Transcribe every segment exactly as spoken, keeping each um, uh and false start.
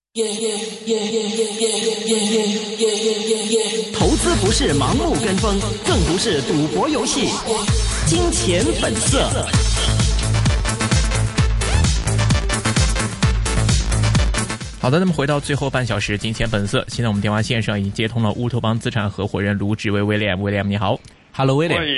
投資不是盲目跟風，更不是賭博遊戲。金錢本色。好的，那麼回到最後半小時，金錢本色。現在我們電話線上已經接通了烏托邦資產合夥人盧志威 William。William 你好 ，Hello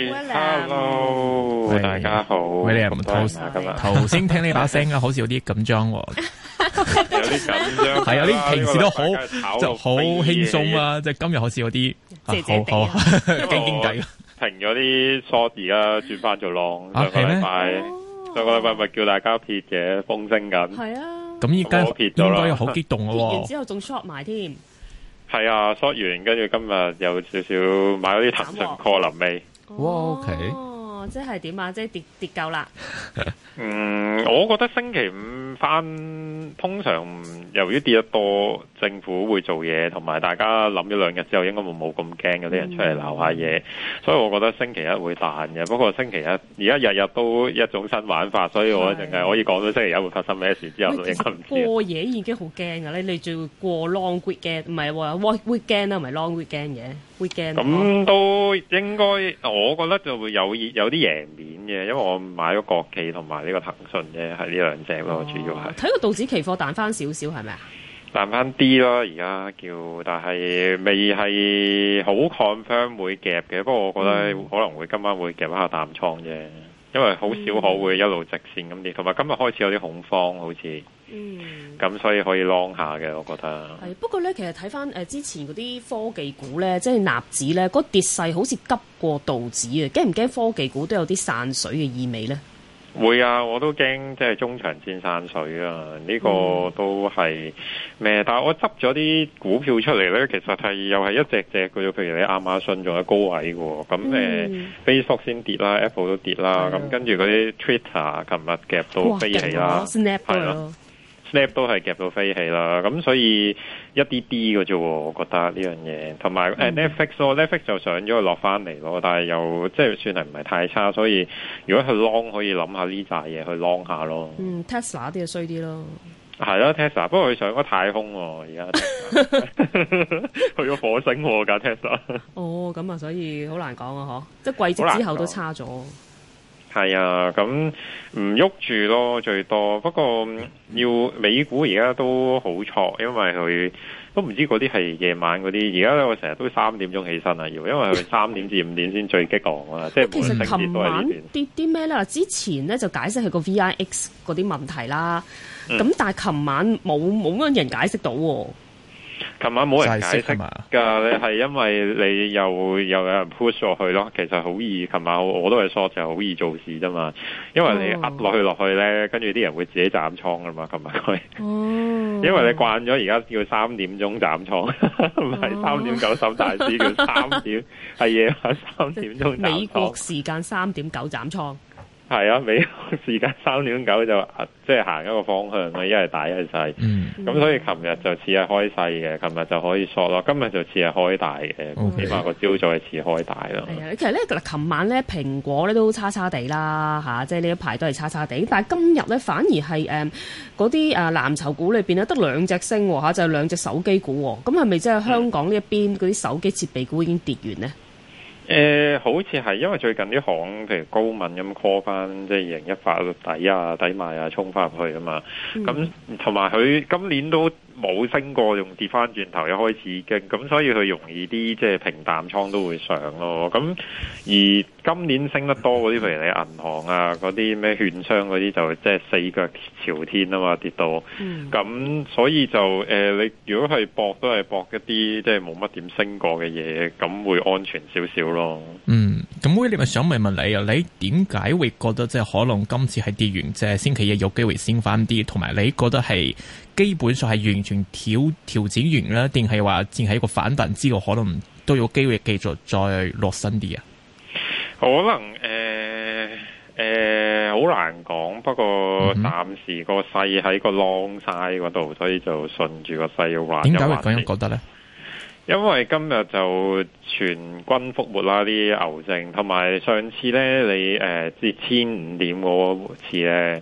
William。Hello， 大家好。 William， 頭頭先聽呢把聲啊，好似有啲緊張喎。 有啲緊張， 係有啲平時都好就好輕鬆啊，即係今日好似有啲好好驚驚地。 停咗啲 short 而家轉翻做 long。上個禮拜上個禮拜咪叫大家撇嘅，風聲緊。 係啊。 咁依家應該又好激動咯喎！ 撇完之後仲 short 埋添。 係啊 ，short 完跟住今日有少少買咗啲騰訊 call 臨尾。 哇 ，OK。 哦，即係點啊？即係跌跌夠啦。 嗯，我覺得星期五翻，通常由於跌得多，政府會做嘢，同埋大家諗咗兩日之後，應該會冇咁驚，有啲人出嚟鬧下嘢，所以我覺得星期一會彈嘅。不過星期一而家日日都一種新玩法，所以我淨係可以講到星期一會發生咩事之後，都應該唔知。 過夜已經好驚噶啦，你仲要過 long weekend，唔係喎 weekend 啦，唔係 long weekend 嘅 weekend。咁都應該，我覺得就會有有啲贏面嘅，因為我買咗國企同埋呢個騰訊啫，係呢兩隻咯，主要係。 睇個道指期貨彈翻少少係咪啊？ 彈翻啲咯，而家叫，但係未係好 confirm 會夾嘅。不過我覺得可能會今晚會夾一下淡倉啫，因為好少可會一路直線咁跌，同埋今日開始有啲恐慌，好似，嗯，咁所以可以 long 下嘅，我覺得。 係不過咧，其實睇翻誒之前嗰啲科技股咧，即係納指咧，嗰跌勢好似急過道指啊，驚唔驚科技股都有啲散水嘅意味咧？ 會啊，我都驚即係中長線散水啊！呢、這個都係咩、嗯？但係我執咗啲股票出嚟咧，其實係又係一隻隻嘅啫。譬如你亞馬遜仲喺高位嘅，咁誒、嗯、Facebook 先跌啦 ，Apple 都跌啦，咁、嗯、跟住嗰啲 Twitter 琴日夾到飛起啦，係咯。Snap 都係夾到飛起啦，咁所以一啲啲嘅啫，我覺得呢樣嘢。同埋誒 Netflix 咯 ，Netflix 就上咗落翻嚟咯，但係又即係算係唔係太差，所以如果去 long 可以諗下呢扎嘢去 long 下咯。 嗯 ，Tesla 啲就衰啲咯。 係啦 Tesla， 不過佢上咗太空喎，而家去咗火星喎架 Tesla。哦， 咁啊，所以好難講啊，嗬，即係季績之後都差咗。 係啊，咁唔喐住咯，最多。不過要美股而家都好錯，因為佢都唔知嗰啲係夜晚嗰啲。而家咧我成日都三點鐘起身啊，要，因為佢三點至五點先最激昂啊。即係其實琴晚跌啲咩咧？之前咧就解釋係個 V I X 嗰啲問題啦。咁、嗯、但係琴晚冇冇乜人解釋到喎。 琴晚冇人解釋㗎，你係因為你又又有人 push 落去咯。其實好易，琴晚我都係 short 就好易做事啫嘛。因為你壓落去落去咧，跟住啲人會自己斬倉㗎嘛。琴日佢，因為你慣咗而家叫三點鐘斬倉，唔係三點九十大市叫三點，係夜晚三點鐘斬倉。 美國時間三點九斬倉。 係啊，美國時間三點九就即係行一個方向咯，一係大一係細。咁、嗯、所以琴日就似係開細嘅，琴日就可以索咯。今日就似係開大嘅，起碼個朝早係似開大咯。 係啊，其實咧嗱，琴晚咧蘋果咧都差差地啦嚇，即係呢一排都係差差地。但係今日咧反而係誒嗰啲誒藍籌股裏邊咧得兩隻升喎嚇，就係、是、兩隻手機股喎。咁係咪即係香港呢一邊嗰啲手機設備股已經跌完呢？ 誒、呃，好似係，因為最近啲行，譬如高敏咁 call 翻，即係二零一八底啊、底賣啊，衝翻入去啊嘛。咁同埋佢今年都冇升過，仲跌翻轉頭，一開始已經咁，所以佢容易啲，即係平淡倉都會上咯。咁而今年升得多嗰啲，譬如你銀行啊、嗰啲咩券商嗰啲，就即係四腳朝天啊嘛，跌到。咁、嗯、所以就誒、呃，你如果係搏都係搏一啲即係冇乜點升過嘅嘢，咁會安全少少咯。 嗯，咁威廉咪想問問你啊，你點解會覺得即係可能今次係跌完，即係星期一有機會升翻啲，同埋你覺得係基本上係完全調調整完啦，定係話淨係一個反彈之後，可能都有機會繼續再落深啲啊？可能誒誒，好難講。不過暫時個勢喺個 long side 嗰度，所以就順住個勢要玩。點解會咁樣覺得咧？因為今日就全軍覆沒啦，啲牛證，同埋上次咧你誒跌千五點嗰次咧，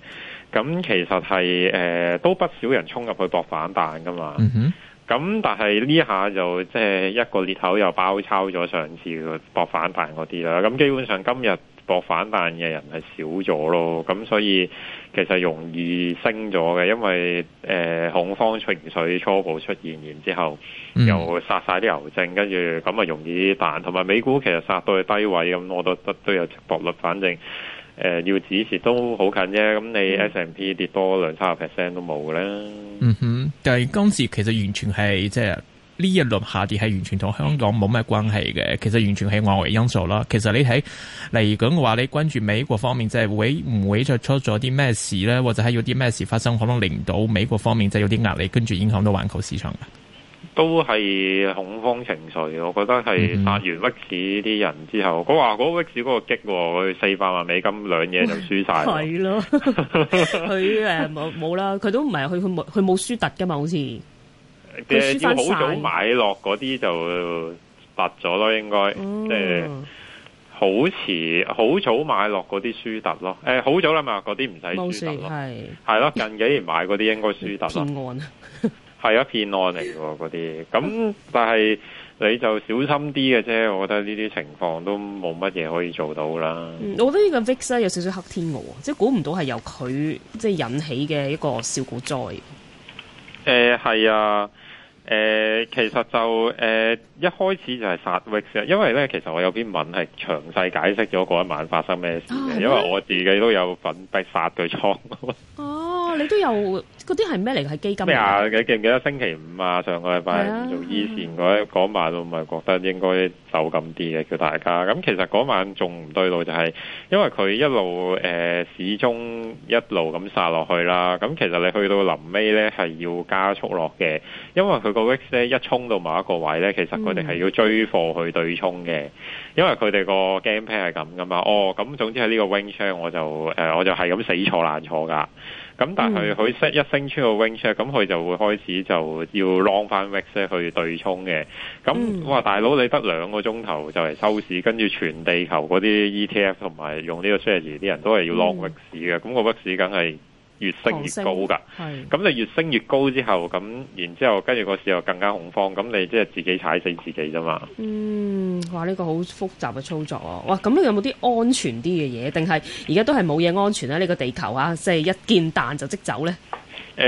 咁其實係誒、呃、都不少人衝入去搏反彈噶嘛。 嗯哼。 咁但係呢下就即係一個裂口又包抄咗上次個搏反彈嗰啲啦。咁基本上今日搏反彈嘅人係少咗咯。咁所以其實容易升咗嘅，因為誒、呃、恐慌情緒初步出現，然之後又殺晒啲牛證，跟住咁啊容易彈。同埋美股其實殺到去低位，咁我都得都有值博率，反正。誒、呃，要止蝕都好近啫，咁你 S and P 跌多兩三個 percent 都冇嘅啦。 嗯哼，但係今次其實完全係即係呢一輪下跌係完全同香港冇咩關係嘅，其實完全係外圍因素啦。其實你睇嚟講嘅話，你關注美國方面即係會唔會再出咗啲咩事咧，或者係有啲咩事發生，可能令到美國方面即係有啲壓力，跟住影響到環球市場嘅。 都係恐慌情緒，我覺得係殺完 V I X 啲人之後，佢話嗰 V I X 嗰個激，佢四百萬美金兩嘢就輸晒。 係咯，佢誒冇冇啦，佢都唔係佢佢冇佢冇輸突噶嘛，好似誒要好早買落嗰啲就突咗咯，應該即係好遲好早買落嗰啲輸突咯。誒好早啦嘛，嗰啲唔使輸突咯，係係咯，近幾年買嗰啲應該輸突咯。係啊，騙案嚟嘅嗰啲，咁但係你就小心啲嘅啫。我覺得呢啲情況都冇乜嘢可以做到啦。 嗯，我覺得呢個 V I X 咧有少少黑天鵝，即係估唔到係由佢即係引起嘅一個小股災。 誒係啊，誒、呃、其實就誒、呃、一開始就係殺 V I X，因為咧其實我有篇文係詳細解釋咗嗰一晚發生咩事嘅，啊、因為我自己都有份被殺對倉。 哦，你都有嗰啲係咩嚟？係基金咩啊？你記唔記得星期五啊？上個禮拜五做依線嗰嗰晚，我咪覺得應該走咁啲嘅，叫大家。咁其實嗰晚仲唔對路，就係因為佢一路誒、呃、始終一路咁殺落去啦。咁其實你去到臨尾咧係要加速落嘅，因為佢個 V I X 咧一衝到某一個位咧，其實佢哋係要追貨去對沖嘅，因為佢哋個 game plan 係咁噶嘛。哦，咁總之喺呢個 range 我就誒、呃、我就係咁死坐爛坐噶。咁但係佢升一升出個 range 咁佢就會開始就要 long 翻 V I X 去對沖嘅。咁哇，大佬你得兩個鐘頭就嚟收市，跟住全地球嗰啲 E T F 同埋用呢個 strategy 啲人都係要 long V I X 嘅。咁、嗯、個 V I X 梗係越升越高噶。咁你越升越高之後，咁然之後跟住個市又更加恐慌，咁你即係自己踩死自己啫嘛。 嗯，哇！呢、這個好複雜嘅操作啊！哇，咁你有冇啲安全啲嘅嘢？定係而家都係冇嘢安全咧？呢、這個地球啊，即係一見彈就即走咧？ 誒、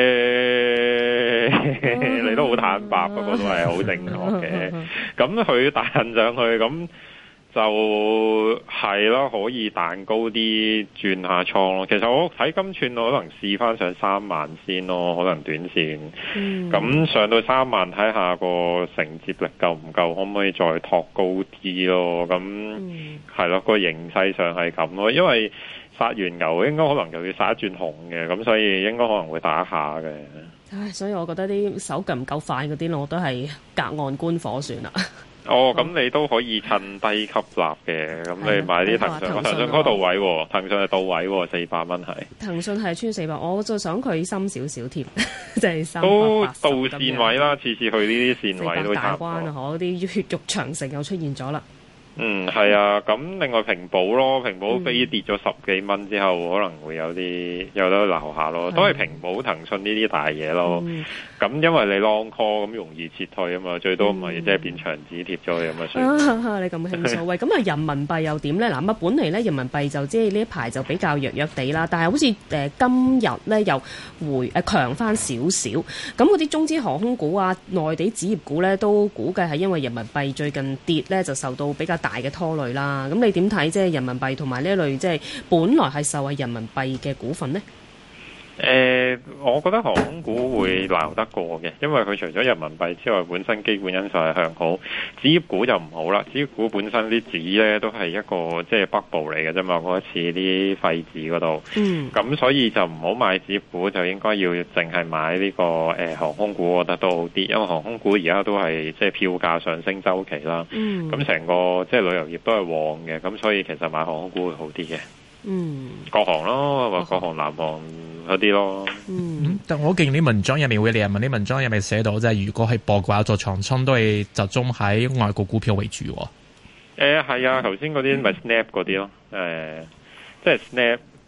欸，你都好坦白，不過都係好正確嘅。咁佢彈上去咁。就係咯，可以彈高啲轉下倉咯。其實我睇今串我可能試翻上三萬先咯，可能短線。咁、嗯、上到三萬睇下個承接力夠唔夠，可唔可以再托高啲咯？咁係咯，個形勢上係咁咯。因為殺完牛應該可能又要殺一轉紅嘅，咁所以應該可能會打一下嘅。 唉，所以我覺得啲手腳唔夠快嗰啲，我都係隔岸觀火算啦。 哦，咁你都可以趁低吸納嘅，咁你買啲騰訊，騰訊嗰度位，騰訊係到位，四百蚊係。騰訊係穿四百，我就想佢深少少添，即係三百八十。都到線位啦，次次去呢啲線位都差唔多。大關啊，可啲血肉長城又出現咗啦。嗯，係啊，咁另外平保咯，平保飛跌咗十幾蚊之後，可能會有啲有得留下咯，都係平保、騰訊呢啲大嘢咯。咁、嗯、因為你 long call 咁容易撤退啊嘛，最多唔係即係變牆紙貼咗佢咁啊算。你咁輕鬆，喂，咁啊人民幣又點咧？嗱，咁啊本嚟咧人民幣就即係呢一排就比較弱弱地啦，但係好似誒、呃、今日咧又回誒強翻少少。咁嗰啲中資航空股啊、內地紙業股咧，都估計係因為人民幣最近跌咧，就受到比較大嘅拖累啦，咁你點睇即係人民幣同埋呢一類即係本來係受惠人民幣嘅股份呢？誒、呃，我覺得航空股會鬧得過嘅，因為佢除咗人民幣之外，本身基本因素係向好。紙業股就唔好啦，紙業股本身啲紙咧都係一個即係北部嚟嘅啫嘛，嗰一次啲廢紙嗰度。嗯。咁所以就唔好買紙業股，就應該要淨係買呢、這個誒、呃、航空股，我覺得都好啲，因為航空股而家都係即係票價上升週期啦。嗯。咁成個即係旅遊業都係旺嘅，咁所以其實買航空股會好啲嘅。嗯。國航咯，或國航、南航。嗰啲咯，嗯， 但我見啲文章入面會，你問啲文章入面寫到，即係如果係博嘅話，做長倉都係集中喺外國股票為主。誒、呃， 係啊，頭先嗰啲咪 Snap 嗰啲咯，誒、呃，即係 Snap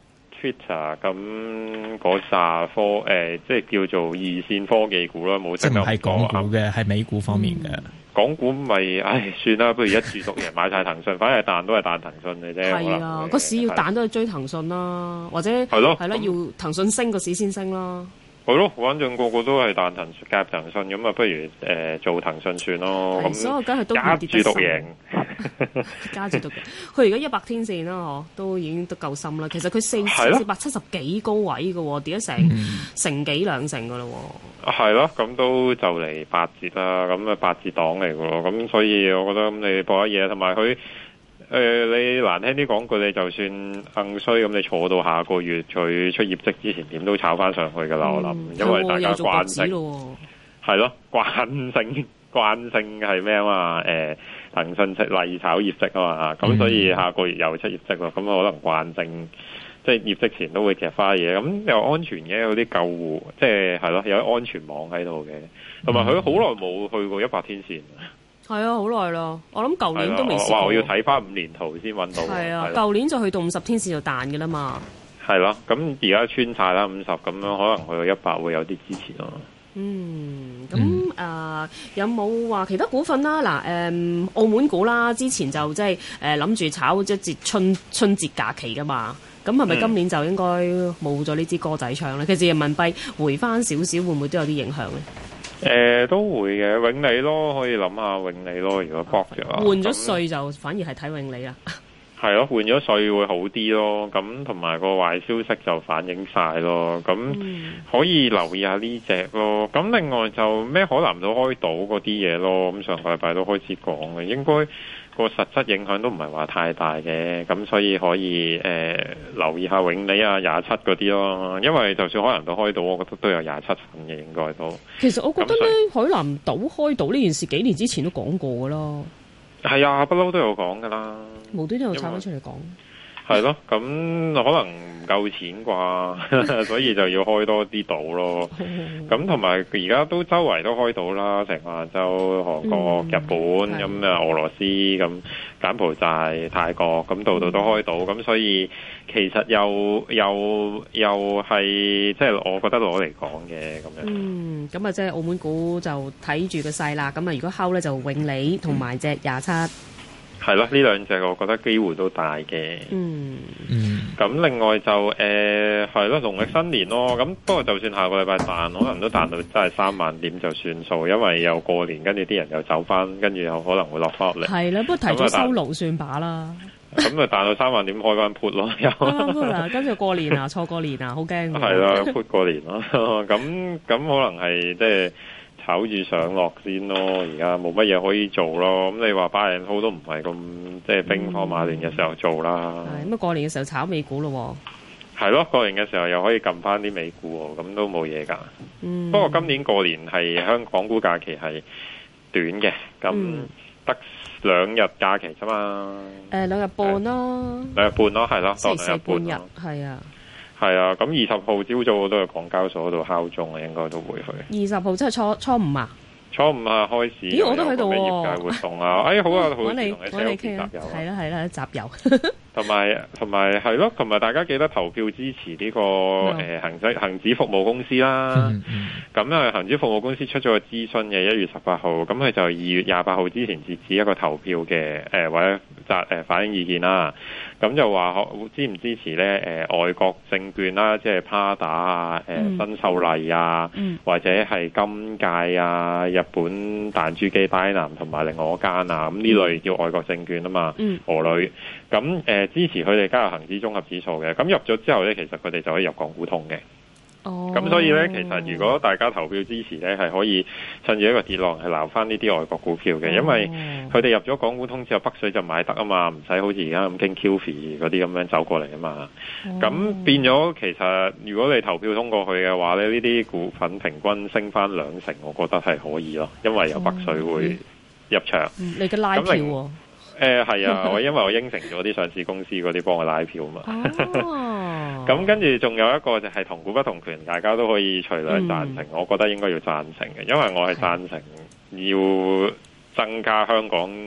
Twitter 咁嗰扎科誒、呃，即係叫做二線科技股啦，冇即係唔係港股嘅，係、嗯、美股方面嘅。 港股咪唉算啦，不如一注獨贏買晒騰訊，反正係彈都係彈騰訊嘅啫。 係啊，個市要彈都係追騰訊啦，或者係咯係咯，要騰訊升個市先升啦。 係咯，反正個個都係彈騰夾騰訊咁啊，不如誒、呃、做騰訊算咯。咁所以我梗係都加注獨贏， 加注獨贏。佢而家一百天線啦，嗬，都已經都夠深啦。其實佢四四百七十幾高位嘅，跌咗成、嗯、成幾兩成嘅咯。 係咯，咁都就嚟八折啦，咁啊八折檔嚟嘅咯。咁所以我覺得咁你博一嘢，同埋佢。誒、呃，你難聽啲講句，你就算硬衰咁，你坐到下個月佢出業績之前，點都炒翻上去噶啦、嗯。我諗，因為大家慣性係咯，慣性慣性係咩啊嘛？誒、呃，騰訊出例炒業績啊嘛，咁所以下個月又出業績咯。咁可能慣性即係業績前都會夾花嘢，咁又安全嘅，有啲救護，即係係咯，有安全網喺度嘅。同埋佢好耐冇去過一百天線。 係啊，好耐咯！我諗舊年都未試過。 哇！我要睇翻五年圖先揾到。 係啊，舊年就去到五十天線就彈嘅啦嘛。係咯，咁而家穿晒啦五十，咁樣可能去到一百會有啲支持咯。 嗯，咁誒、嗯呃、有冇話其他股份啦？嗱、呃，誒澳門股啦，之前就即係誒諗住炒一節春春節假期噶嘛。咁係咪今年就應該冇咗呢支歌仔唱咧？其實人民幣回翻少少，會唔會都有啲影響咧？ 誒、呃，都會嘅，永利咯，可以諗下永利咯。如果搏嘅話， 換咗稅就反而係睇永利啦。 係咯，換咗稅會好啲咯。咁同埋個壞消息就反映晒咯。咁可以留意下呢隻咯。咁另外就咩海南島開島嗰啲嘢咯。咁上個禮拜都開始講嘅，應該個實質影響都唔係話太大嘅。咁所以可以誒、呃、留意下永利啊廿七嗰啲咯。因為就算海南島開島，我覺得都有廿七份嘅，應該都。 其實我覺得咧，海南島開島呢件事幾年之前都講過噶啦。 係啊，不嬲都有講噶啦。 無端端又炒翻出嚟講。 係咯，咁可能唔夠錢啩，所以就要開多啲島咯。咁同埋而家都周圍都開島啦，成亞洲、韓國、嗯、日本咁啊、俄羅斯咁、柬埔寨、泰國咁度度都開島，咁、嗯、所以其實又又又係即係我覺得攞嚟講嘅咁樣。嗯， 咁啊即係澳門股就睇住個勢啦。咁啊如果睺咧就永利同埋隻廿七。 係咯，呢兩隻我覺得機會都大嘅。嗯嗯。咁另外就誒係咯，農曆新年咯。咁不過就算下個禮拜彈，可能都彈到真係三萬點就算數，因為又過年，跟住啲人又走翻，跟住又可能會落翻落嚟。係啦，不過提早收爐算把啦。咁啊彈到三萬點開翻 put 咯，又。嗱，跟住過年啊，錯過年啊，好驚。係啦 ，put 過年咯。咁咁可能係即係。炒住上落先咯，而家冇乜嘢可以做咯。咁你話巴人好都唔係咁即係兵荒馬亂嘅時候做啦。 係咁啊，過年嘅時候炒美股咯。 係咯，過年嘅時候又可以撳翻啲美股，咁都冇嘢噶。嗯。不過今年過年係香港股假期係短嘅，咁得兩日假期啫嘛。誒、嗯，兩日半咯。兩日半咯，係咯，當兩日半日。係啊。係啊，咁二十號朝早我都喺港交所度敲鐘啊，應該都會去。二十號即係初初五啊？初五啊，開始。咦，我都喺度喎。業界活動啊，哎，好啊，好。揾你揾你傾啊，係啦係啦，集郵。同埋同埋係咯，同埋大家記得投票支持呢個誒恒指恒指服務公司啦。咁啊，恒指服務公司出咗個諮詢嘅一月十八號，咁佢就二月廿八號之前截止一個投票嘅誒或者集誒反映意見啦。咁就話支唔支持咧？誒、呃、外國證券啦，即係 Prada 啊、誒、呃、新秀麗啊，嗯、或者係金界啊、日本彈珠機戴南同埋另外一間啊，咁呢類叫外國證券啊嘛，嗯、俄女。咁誒、呃、支持佢哋加入恒指綜合指數嘅。咁入咗之後咧，其實佢哋就可以入港股通嘅。哦，咁所以咧，其實如果大家投票支持咧，係可以趁住一個跌浪係撈翻呢啲外國股票嘅，因為佢哋入咗港股通之後，北水就買得啊嘛，唔使好似而家咁傾 Q F 嗰啲咁樣走過嚟啊嘛。咁、哦、變咗，其實如果你投票通過去嘅話咧，呢啲股份平均升翻兩成，我覺得係可以咯，因為有北水會入場。嗯、你嘅拉票喎、哦？誒係、呃、啊，我因為我應承咗啲上市公司嗰啲幫我拉票嘛。哦，咁跟住仲有一個就係同股不同權，大家都可以隨兩贊成、嗯。我覺得應該要贊成嘅，因為我係贊成要增加香港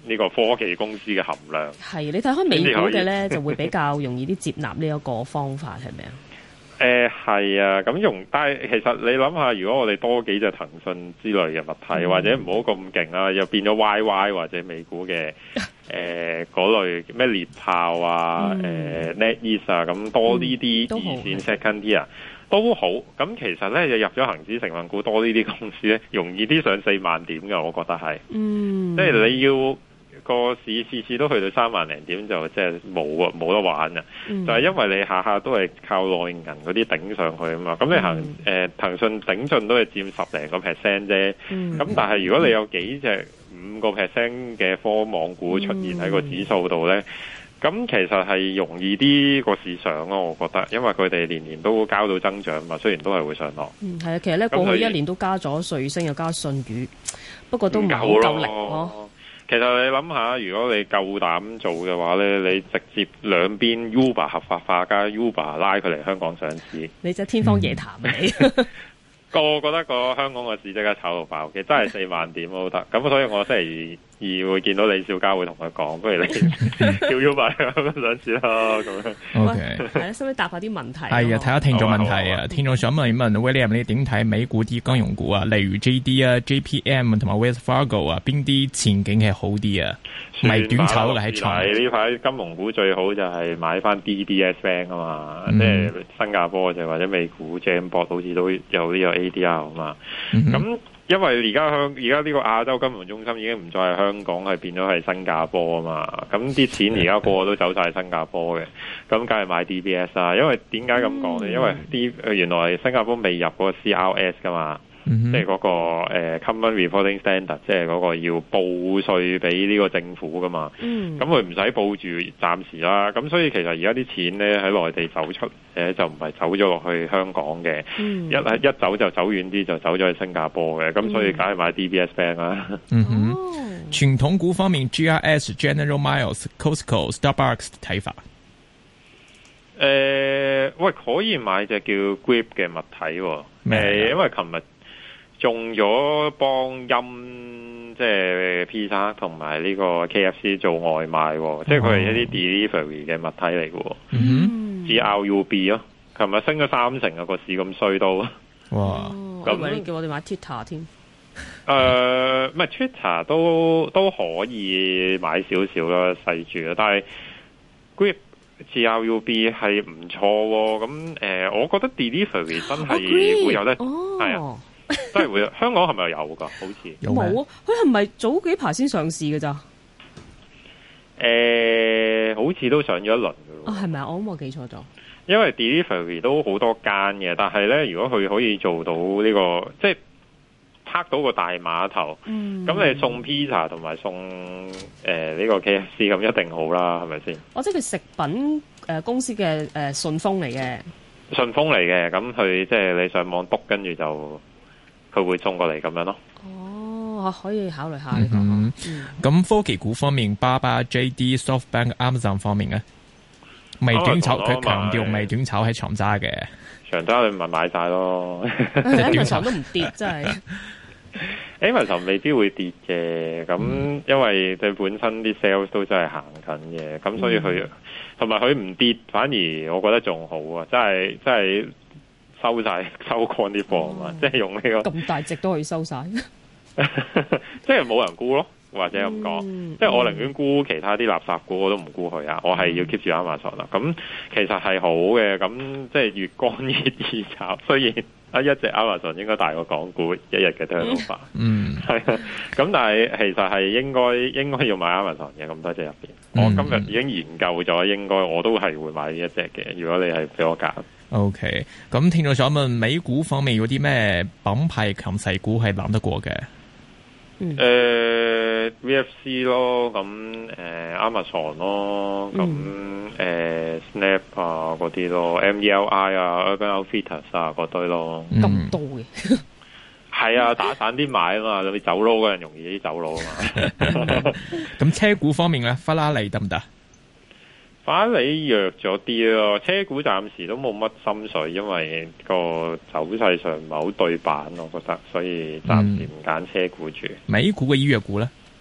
呢個科技公司嘅含量。 係你睇開美股嘅咧，就會比較容易啲接納呢一個方法，係咪啊？ 誒係啊，咁用，但係其實你諗下，如果我哋多幾隻騰訊之類嘅物體，嗯、或者唔好咁勁啦，又變咗 Y Y 或者美股嘅誒嗰類咩獵豹啊、誒、呃、NetEase 啊，咁多呢啲二線 second tier 都好。咁其實咧，就入咗恒指成分股多呢啲公司咧，容易啲上四萬點嘅，我覺得係。嗯，即係你要。個市次次都去到三萬零點就即係冇啊，冇得玩啊！嗯、就係因為你下下都係靠內銀嗰啲頂上去啊嘛，咁你行誒騰訊頂盡都係佔十零個 percent 啫。咁、嗯、但係如果你有幾隻五個 percent 嘅科網股出現喺個指數度咧，咁、嗯、其實係容易啲個市上咯，我覺得，因為佢哋年年都交到增長嘛，雖然都係會上落。嗯，係啊，其實咧過去一年都加咗瑞聲又加信宇，不過都唔夠夠力咯。 其實你諗下，如果你夠膽做嘅話咧，你直接兩邊 Uber 合法化加 Uber 拉佢嚟香港上市， 你真係天方夜譚啊！你個我覺得個香港個市即刻炒到爆，其實真係四萬點都得。咁所以我星期二會見到李小加會同佢講，不如你叫 Uber 咁上市啦。咁樣 OK， 係啦，使唔使答下啲問題？ 係啊，睇下聽眾問題啊。聽眾想問一問 William，你點睇美股啲金融股啊？例如 J D 啊、J P M 同埋 Wells Fargo 啊，邊啲前景係好啲啊？唔係短炒嘅喺長。 呢排金融股最好就係買翻 D B S Bank 啊嘛，嗯、即係新加坡就或者美股 Jamboard 好似都有呢個 A D R 啊嘛。咁、嗯、因為而家香而家呢個亞洲金融中心已經唔再係香港，係變咗係新加坡啊嘛。咁啲錢而家個個都走晒新加坡嘅，咁梗係買 D B S 啊。因為點解咁講咧？因為啲原來新加坡未入嗰個 C R S 噶嘛。Mm-hmm. 即係嗰、那個、呃、Common Reporting Standard，即係嗰個要報稅俾呢個政府噶嘛。咁佢唔使報住，暫時啦。咁所以其實而家啲錢咧喺內地走出，誒就唔係走咗落去香港嘅。Mm-hmm. 一一走就走遠啲，就走咗去新加坡嘅。咁所以梗係買 D B S Bank 啦。 嗯哼，傳統股方面 ，G R S、General Mills、Costco、Starbucks 睇法。 誒、呃，喂，可以買隻叫 Grip 嘅物體、哦。誒、呃，因為琴日。中咗幫音即係 Pizza 同埋呢個 K F C 做外賣、哦，即係佢係一啲 delivery 嘅物體嚟嘅。嗯 ，G R U B 咯，琴日升咗三成啊，個市咁衰到。哇！ 咁、哦、你叫我哋買 Twitter 添？誒、 呃，唔係 Twitter 都都可以買少少啦，細住啦。但係 Grip G R U B 係唔錯喎。咁誒、呃，我覺得 delivery 真係會有得係啊。真係會，香港係咪有噶？好似冇啊！佢係咪早幾排先上市嘅咋？ 誒、欸，好似都上咗一輪噶。啊， 係咪啊？我諗我記錯咗。 因為 delivery 都好多間嘅，但係咧，如果佢可以做到呢、這個，即係拍到個大碼頭，咁、嗯、你送 pizza 同埋送誒呢、呃這個 K F C 咁一定好啦，係咪先？ 哦，即係佢食品誒、呃、公司嘅誒順豐嚟嘅。順豐嚟嘅，咁佢即係你上網篤，跟住就。佢會送過嚟咁樣咯。 哦，可以考慮下呢、這個。咁、 嗯嗯、科技股方面，巴巴、J D、SoftBank、Amazon 方面咧，未短炒，佢強調未短炒係長揸嘅。 長揸你咪買晒咯。 Amazon 都唔跌，真係。 Amazon 未必會跌嘅，咁、嗯、因為佢本身啲 sales 都真係行緊嘅，咁所以佢同埋佢唔跌，反而我覺得仲好啊！真係真係。收晒收乾啲貨啊嘛，即係用呢、這個咁大隻都可以收晒， 即係冇人沽咯，或者咁講，嗯、即係我寧願沽其他啲垃圾股，我都唔沽佢啊，我係要 keep 住 Amazon 啦。咁其實係好嘅，咁即係越乾越易炒。雖然啊，一隻 Amazon 應該大過港股一日嘅 turnover，嗯，係啊。咁但係其實係應該應該要買 Amazon 嘅咁多隻入邊。我今日已經研究咗，應該我都係會買呢一隻嘅。如果你係俾我揀。 OK，咁聽眾想問美股方面有啲咩品牌強勢股係諗得過嘅？誒、 嗯呃、V F C 咯，咁誒、呃、Amazon 咯，咁誒、嗯呃、Snap 啊嗰啲咯 ，M E L I 啊 Urban Outfitters 啊嗰堆咯， 咁多嘅。 係啊，打散啲買啊嘛，你走佬嗰人容易啲走佬啊嘛。 咁車股方面咧，法拉利得唔得？ 法拉利弱咗啲咯，車股暫時都冇乜心水，因為個走勢上唔係好對版，我覺得，所以暫時唔揀車股住。 美股嘅醫藥股咧，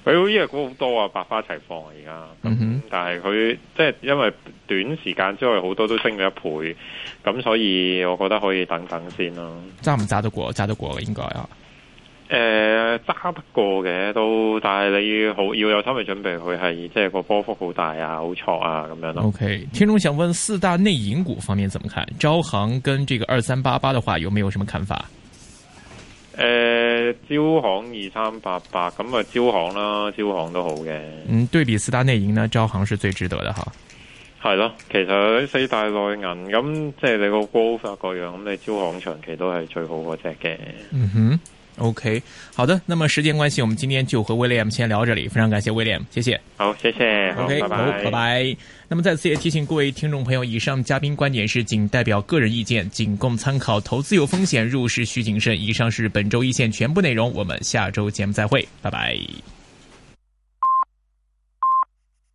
佢呢隻股好多啊，百花齊放啊而家。 嗯哼， 但係佢即係因為短時間之內好多都升咗一倍，咁所以我覺得可以等等先咯。 揸唔揸得過？揸得過嘅應該啊。 誒、呃，揸得過嘅都，但係你要好要有心理準備，佢係即係個波幅好大啊，好挫啊咁樣咯。 OK， 聽眾想問四大內銀股方面怎麼看？招行跟這個二三八八的話，有沒有什麼看法？ 誒、呃，招行二三八八咁啊，招行啦，招行都好嘅。嗯， 對比四大內銀呢，招行是最值得的哈。 係咯，其實四大內銀咁，即係你個 growth 各樣，咁你招行長期都係最好嗰隻嘅。 嗯哼。OK， 好的。那麼時間關係，我們今天就和 William 先聊這裡，非常感謝 William， 謝謝。 好，謝謝。 OK， 好，拜拜。 好，拜拜。那麼再次也提醒各位聽眾朋友，以上嘉賓觀點是僅代表個人意見，僅供參考，投資有風險，入市需謹慎。以上是本周一線全部內容，我們下周節目再會，拜拜。